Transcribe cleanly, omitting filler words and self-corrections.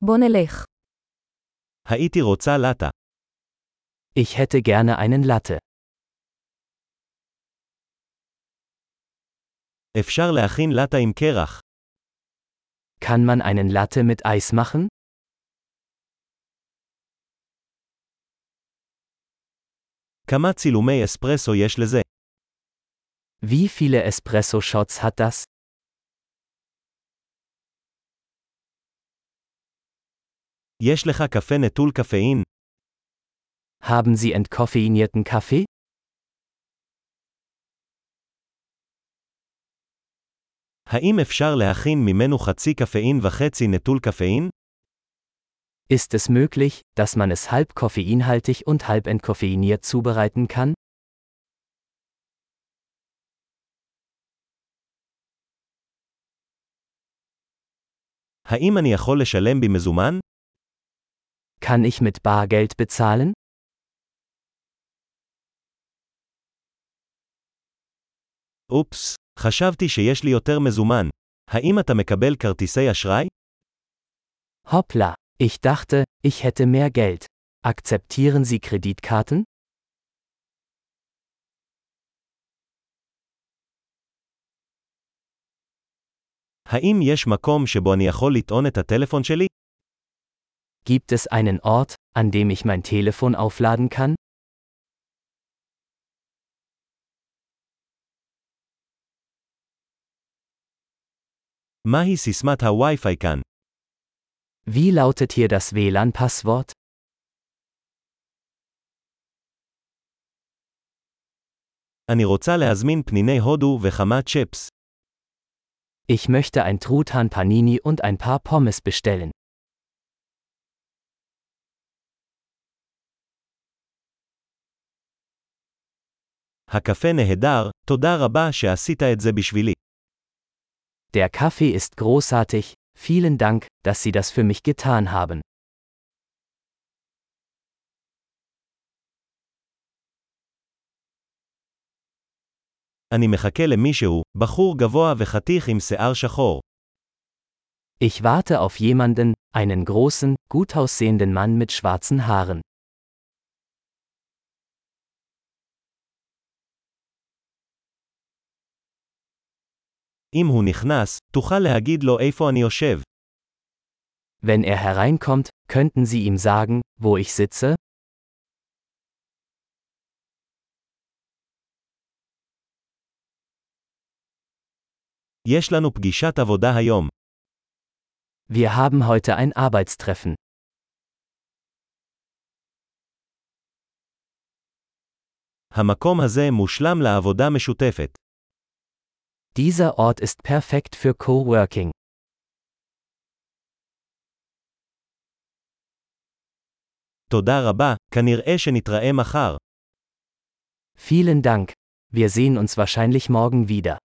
בוא נלך. הייתי רוצה לטה. Ich hätte gerne einen Latte. אפשר להכין לטה עם קרח. Kann man einen Latte mit Eis machen? כמה צילומי אספרסו יש לזה? Wie viele Espresso-Shots hat das? יש לך קפה נטול קפאין? Haben Sie entkoffeinierten Kaffee? האם אפשר להכין ממנו חצי קפאין וחצי נטול קפאין? Ist es möglich, dass man es halb koffeinhaltig und halb entkoffeiniert zubereiten kann? האם אני יכול לשלם במזומן? Kann ich mit Bargeld bezahlen? אופס, חשבתי שיש לי יותר מזומן. האם אתה מקבל כרטיסי אשראי? Hoppla, ich dachte, ich hätte mehr Geld. Akzeptieren Sie Kreditkarten? האם יש מקום שבו אני יכול לטעון את הטלפון שלי? Gibt es einen Ort, an dem ich mein Telefon aufladen kann? מהי סיסמת הווי-פיי כאן? Wie lautet hier das WLAN-Passwort? אני רוצה להזמין פניני הודו וכמה צ'פס. Ich möchte ein Truthahn Panini und ein paar Pommes bestellen. הקפה נהדר, תודה רבה שעשית את זה בשבילי. Der Kaffee ist großartig, vielen Dank, dass Sie das für mich getan haben. אני מחכה למישהו, בחור גבוה וחתיך עם שיער שחור. Ich warte auf jemanden, einen großen, gut aussehenden Mann mit schwarzen Haaren. אם הוא נכנס, תוכל להגיד לו איפה אני יושב. Wenn er hereinkommt, könnten Sie ihm sagen, wo ich sitze? יש לנו פגישת עבודה היום. Wir haben heute ein Arbeitstreffen. המקום הזה מושלם לעבודה משותפת. Dieser Ort ist perfekt für Coworking. תודה רבה, כנראה שנתראה מחר. Vielen Dank. Wir sehen uns wahrscheinlich morgen wieder.